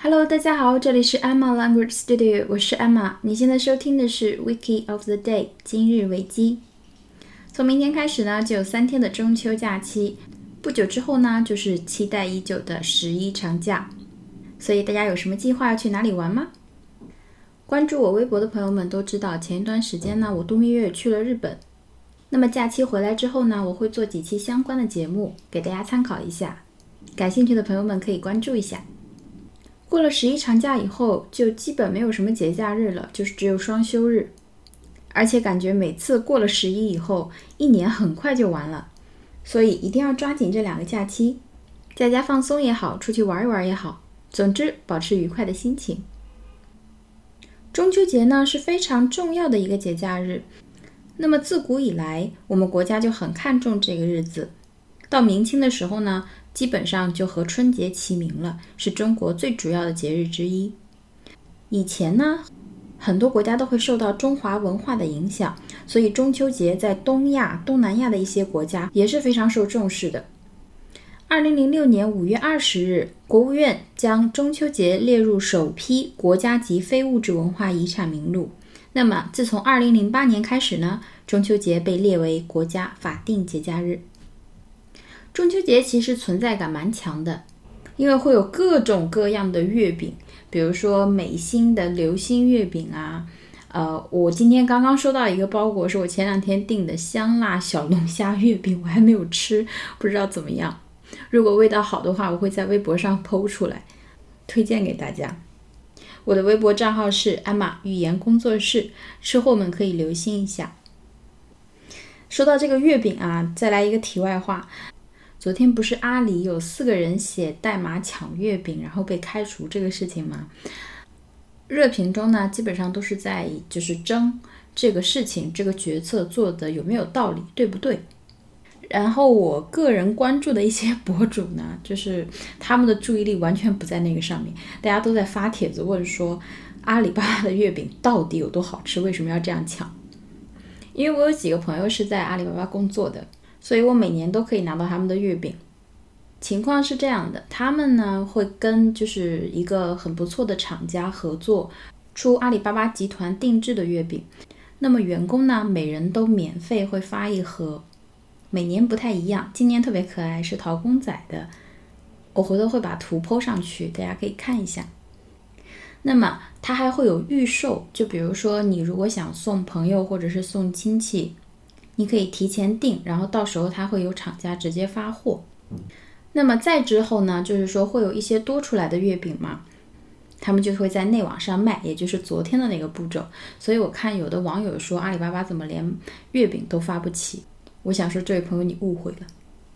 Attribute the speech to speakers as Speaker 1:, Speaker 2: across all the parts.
Speaker 1: Hello， 大家好，这里是 Emma Language Studio， 我是 Emma。你现在收听的是 Wiki of the Day 今日维基。从明天开始呢，就有3天的中秋假期，不久之后呢，就是期待已久的11长假。所以大家有什么计划要去哪里玩吗？关注我微博的朋友们都知道，前一段时间呢，我度蜜月去了日本。那么假期回来之后呢，我会做几期相关的节目，给大家参考一下。感兴趣的朋友们可以关注一下。过了11长假以后，就基本没有什么节假日了，就是只有双休日。而且感觉每次过了11以后，一年很快就完了，所以一定要抓紧这2个假期，在家放松也好，出去玩一玩也好，总之保持愉快的心情。中秋节呢是非常重要的一个节假日，那么自古以来，我们国家就很看重这个日子。到明清的时候呢，基本上就和春节齐名了，是中国最主要的节日之一。以前呢，很多国家都会受到中华文化的影响，所以中秋节在东亚、东南亚的一些国家也是非常受重视的。2006年5月20日，国务院将中秋节列入首批国家级非物质文化遗产名录。那么自从2008年开始呢，中秋节被列为国家法定节假日。中秋节其实存在感蛮强的，因为会有各种各样的月饼，比如说美心的流心月饼啊，我今天刚刚收到一个包裹，是我前2天订的香辣小龙虾月饼，我还没有吃，不知道怎么样。如果味道好的话，我会在微博上 po 出来，推荐给大家。我的微博账号是 Emma 语言工作室，吃货们可以留心一下。说到这个月饼啊，再来一个题外话。昨天不是阿里有4个人写代码抢月饼，然后被开除这个事情吗？热评中呢，基本上都是在就是争这个事情，这个决策做的有没有道理，对不对？然后我个人关注的一些博主呢，就是他们的注意力完全不在那个上面，大家都在发帖子问说阿里巴巴的月饼到底有多好吃，为什么要这样抢？因为我有几个朋友是在阿里巴巴工作的，所以我每年都可以拿到他们的月饼。情况是这样的，他们呢会跟就是一个很不错的厂家合作，出阿里巴巴集团定制的月饼。那么员工呢，每人都免费会发1盒，每年不太一样，今年特别可爱，是陶公仔的，我回头会把图 po 上去，大家可以看一下。那么它还会有预售，就比如说你如果想送朋友或者是送亲戚，你可以提前订，然后到时候它会有厂家直接发货。那么再之后呢，就是说会有一些多出来的月饼嘛，他们就会在内网上卖，也就是昨天的那个步骤。所以我看有的网友说阿里巴巴怎么连月饼都发不起，我想说这位朋友你误会了。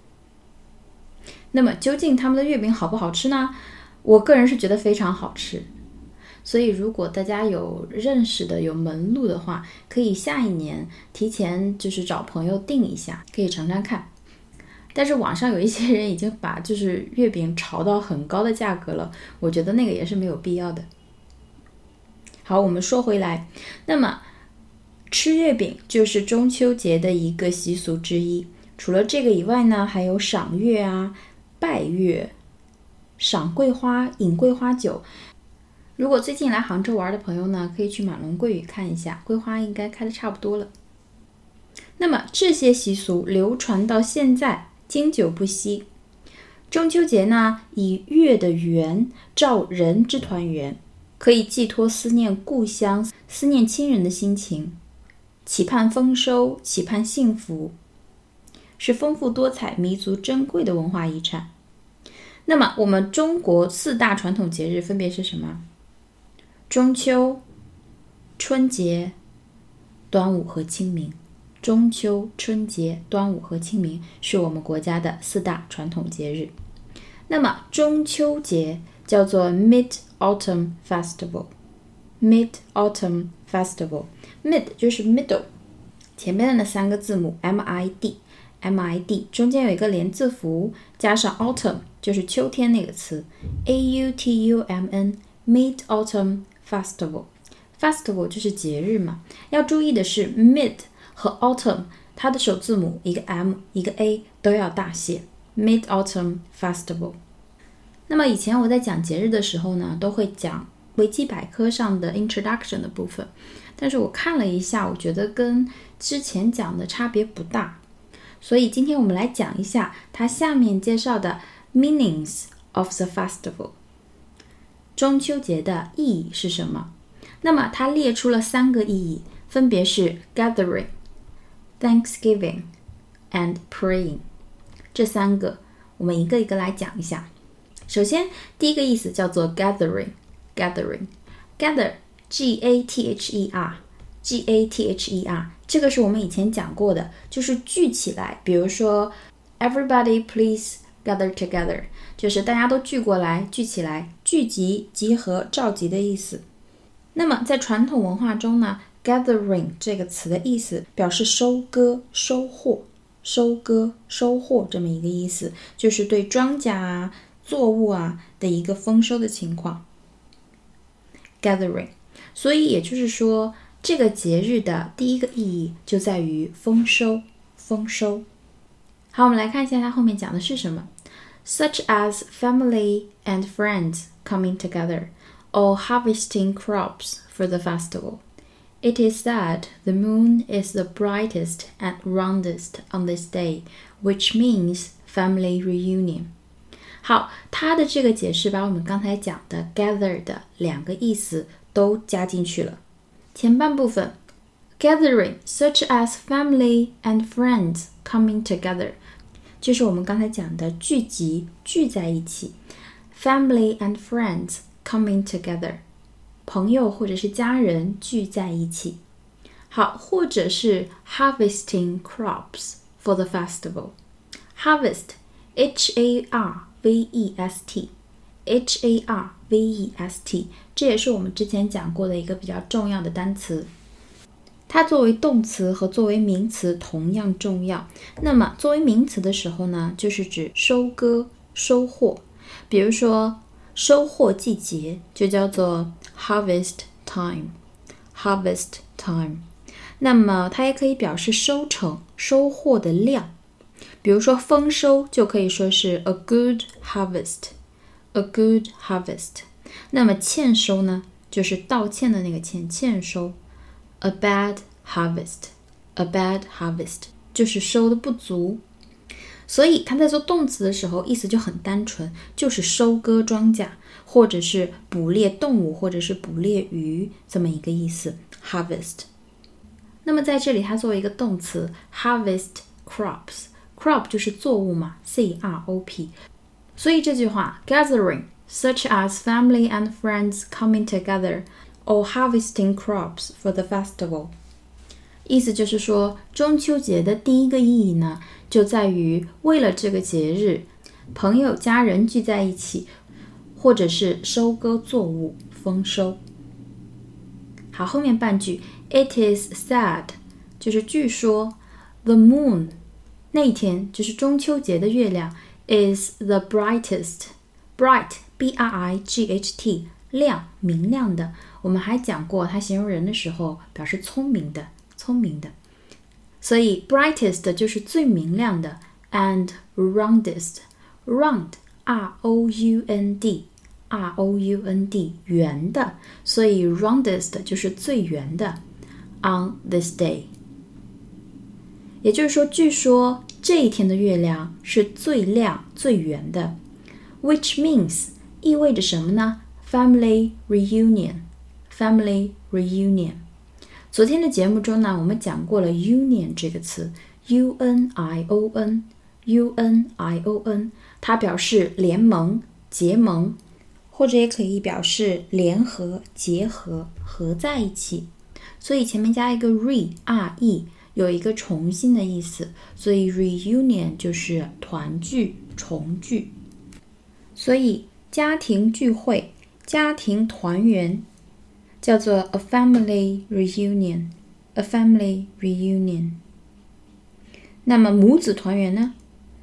Speaker 1: 那么究竟他们的月饼好不好吃呢？我个人是觉得非常好吃，所以如果大家有认识的有门路的话，可以下一年提前就是找朋友订一下，可以尝尝看。但是网上有一些人已经把就是月饼炒到很高的价格了，我觉得那个也是没有必要的。好，我们说回来，那么吃月饼就是中秋节的一个习俗之一。除了这个以外呢，还有赏月啊、拜月、赏桂花、饮桂花酒。如果最近来杭州玩的朋友呢，可以去马龙桂屿看一下，桂花应该开的差不多了。那么这些习俗流传到现在，经久不息。中秋节呢，以月的圆照人之团圆，可以寄托思念故乡、思念亲人的心情，期盼丰收，期盼幸福，是丰富多彩、弥足珍贵的文化遗产。那么我们中国4大传统节日分别是什么？中秋、春节、端午和清明。中秋、春节、端午和清明是我们国家的4大传统节日。那么中秋节叫做 Mid-Autumn Festival。Mid-Autumn Festival，Mid 就是 middle， 前面的那3个字母 MID， 中间有一个连字符，加上 autumn 就是秋天那个词 AUTUMN， Mid-Autumn Festival 就是节日嘛。要注意的是 Mid和 Autumn 它的首字母一个 M 一个 A 都要大写 Mid-Autumn Festival。 那么以前我在讲节日的时候呢，都会讲维基百科上的 introduction 的部分，但是我看了一下，我觉得跟之前讲的差别不大，所以今天我们来讲一下它下面介绍的 meanings of the festival。 中秋节的意义是什么？那么它列出了3个意义，分别是 gathering, Thanksgiving and praying。 这3个我们一个一个来讲一下。首先第一个意思叫做 gather G-A-T-H-E-R， 这个是我们以前讲过的，就是聚起来，比如说 everybody please gather together， 就是大家都聚过来，聚起来，聚集、集合、召集的意思。那么在传统文化中呢， gathering 这个词的意思表示收割、收获、收割、收获这么一个意思，就是对庄稼啊、作物啊的一个丰收的情况。 gathering， 所以也就是说这个节日的第一个意义就在于丰收，丰收。好，我们来看一下它后面讲的是什么。 Such as family and friends coming together or harvesting crops for the festival. It is said the moon is the brightest and roundest on this day, which means family reunion. 好，它的这个解释把我们刚才讲的 gather 的2个意思都加进去了。前半部分 gathering such as family and friends coming together， 就是我们刚才讲的聚集、聚在一起。 family and friends coming together， 朋友或者是家人聚在一起。好，或者是 harvesting crops for the festival。 harvest H-A-R-V-E-S-T， H-A-R-V-E-S-T， 这也是我们之前讲过的一个比较重要的单词。它作为动词和作为名词同样重要。那么作为名词的时候呢，就是指收割、收获。比如说收获季节就叫做 harvest time， harvest time。 那么它也可以表示收成、收获的量。比如说丰收就可以说是 a good harvest， a good harvest。 那么欠收呢，就是道歉的那个欠，欠收 a bad harvest， a bad harvest 就是收的不足。所以他在做动词的时候意思就很单纯，就是收割庄稼，或者是捕猎动物，或者是捕猎鱼，这么一个意思 harvest。 那么在这里它作为一个动词 harvest crops， crop 就是作物嘛， C-R-O-P。 所以这句话 gathering such as family and friends coming together or harvesting crops for the festival， 意思就是说中秋节的第一个意义呢，就在于为了这个节日，朋友家人聚在一起，或者是收割作物，丰收。好，后面半句 It is said 就是据说 The moon 那一天就是中秋节的月亮 is the brightest， bright B-R-I-G-H-T 亮，明亮的。我们还讲过它形容人的时候表示聪明的，聪明的。所以 brightest 就是最明亮的 and roundest， round R-O-U-N-D R-O-U-N-D 圆的，所以 roundest 就是最圆的 on this day。 也就是说据说这一天的月亮是最亮最圆的， which means 意味着什么呢？ family reunion， family reunion。 昨天的节目中呢，我们讲过了 union 这个词 U-N-I-O-N U-N-I-O-N， 它表示联盟、结盟，或者也可以表示联合、结合、合在一起。所以前面加一个 re 有一个重新的意思，所以 reunion 就是团聚、重聚。所以家庭聚会、家庭团圆叫做 a family reunion， a family reunion。 那么母子团圆呢？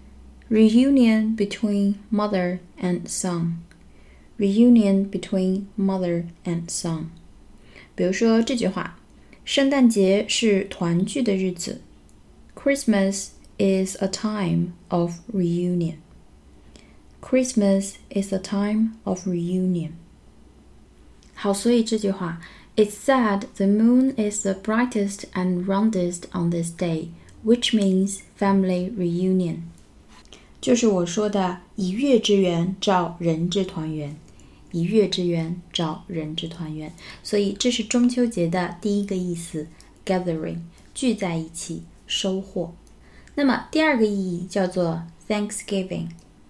Speaker 1: reunion between mother and son， reunion between mother and son。 比如说这句话，圣诞节是团聚的日子， Christmas is a time of reunion。 Christmas is a time of reunion. 好，所以这句话 It's said the moon is the brightest and roundest on this day, which means family reunion. 就是我说的以月之圆照人之团圆，以月之圆照人之团圆。所以这是中秋节的第一个意思 gathering 聚在一起收获。那么第二个意义叫做 Thanksgiving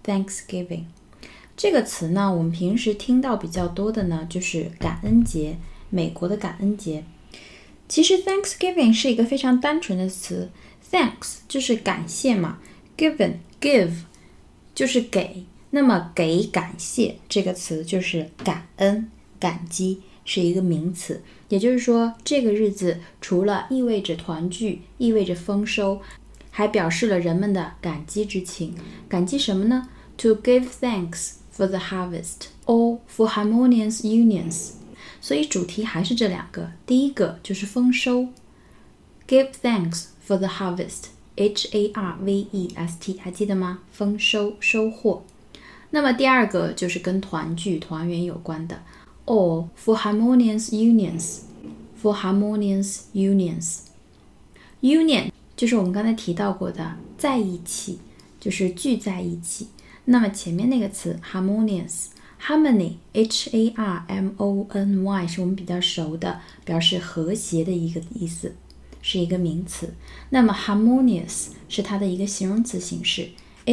Speaker 1: 这个词呢，我们平时听到比较多的呢就是感恩节，美国的感恩节。其实 Thanksgiving 是一个非常单纯的词， Thanks 就是感谢嘛， give 就是给，那么给感谢这个词就是感恩感激，是一个名词。也就是说这个日子除了意味着团聚，意味着丰收，还表示了人们的感激之情。感激什么呢？ To give thanks for the harvest or for harmonious unions。 所以主题还是这两个，第一个就是丰收 Give thanks for the harvest Harvest 还记得吗？丰收收获。那么第二个就是跟团聚团圆有关的 or for harmonious unions Union 就是我们刚才提到过的在一起，就是聚在一起。那么前面那个词 harmony Harmony是我们比较熟的，表示和谐的一个意思，是一个名词。那么 harmonious 是它的一个形容词形式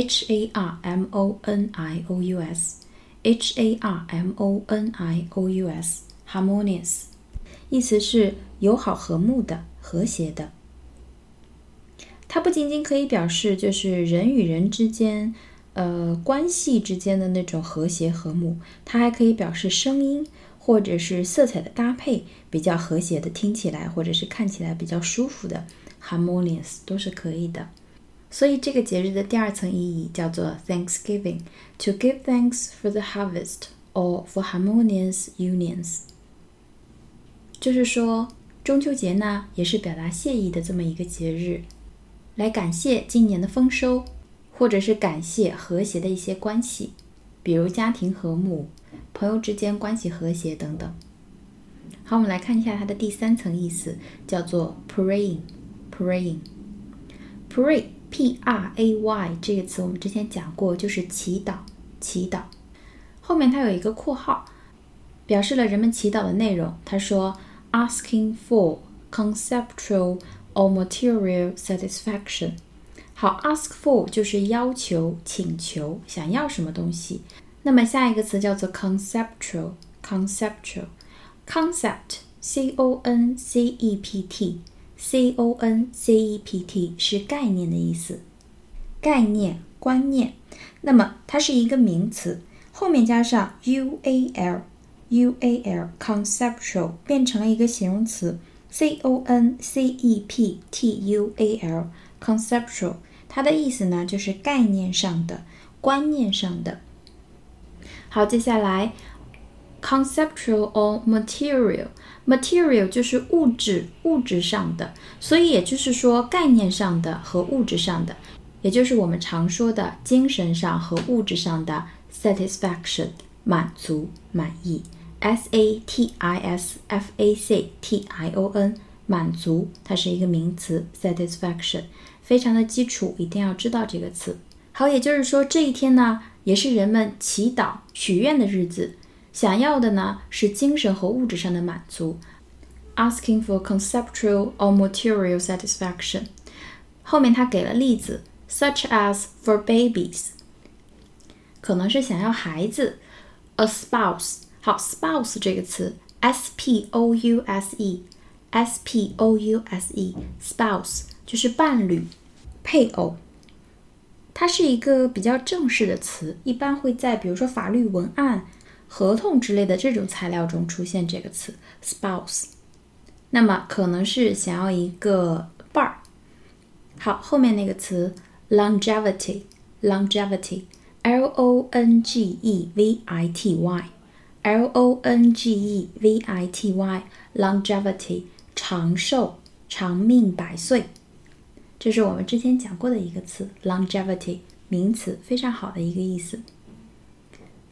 Speaker 1: harmonious harmonious 意思是友好和睦的和谐的。它不仅仅可以表示就是人与人之间关系之间的那种和谐和睦，它还可以表示声音或者是色彩的搭配比较和谐的，听起来或者是看起来比较舒服的 harmonious 都是可以的。所以这个节日的第二层意义叫做 Thanksgiving To give thanks for the harvest or for harmonious unions。 就是说中秋节呢也是表达谢意的这么一个节日，来感谢今年的丰收，或者是感谢和谐的一些关系，比如家庭和睦，朋友之间关系和谐等等。好，我们来看一下它的第三层意思，叫做 Pray P-R-A-Y 这个词我们之前讲过，就是祈祷。后面它有一个括号，表示了人们祈祷的内容。他说 Asking for conceptual or material satisfaction。 好， ask for 就是要求请求想要什么东西。那么下一个词叫做 concept C-O-N-C-E-P-T 是概念的意思，概念观念。那么它是一个名词，后面加上 UAL conceptual 变成了一个形容词 C-O-N-C-E-P-T-U-A-L conceptual， 它的意思呢就是概念上的观念上的。好，接下来 conceptual or material 就是物质上的，所以也就是说概念上的和物质上的，也就是我们常说的精神上和物质上的 satisfaction 满足满意 satisfaction 满足，它是一个名词 satisfaction， 非常的基础，一定要知道这个词。好，也就是说这一天呢也是人们祈祷许愿的日子，想要的呢是精神和物质上的满足 Asking for conceptual or material satisfaction。 后面他给了例子 such as for babies， 可能是想要孩子 A spouse。 好， spouse 这个词 S-P-O-U-S-E spouse 就是伴侣配偶，它是一个比较正式的词，一般会在比如说法律文案合同之类的这种材料中出现这个词 spouse。 那么可能是想要一个伴儿。好，后面那个词 longevity longevity长寿长命百岁，这是我们之前讲过的一个词 longevity 名词，非常好的一个意思。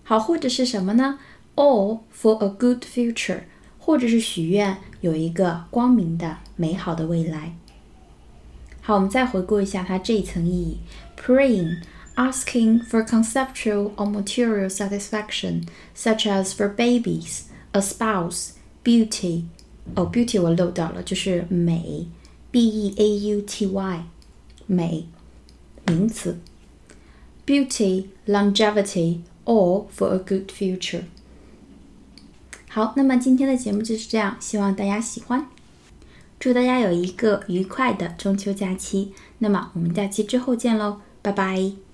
Speaker 1: 好，或者是什么呢？ All for a good future， 或者是许愿有一个光明的美好的未来。好，我们再回顾一下它这一层意义。 Praying, asking for conceptual or material satisfaction, such as for babies, a spouse, beauty. beauty 我漏掉了，就是美， B-E-A-U-T-Y， 美，名词。Beauty, longevity, all for a good future。 好，那么今天的节目就是这样，希望大家喜欢，祝大家有一个愉快的中秋假期。那么我们假期之后见咯，拜拜。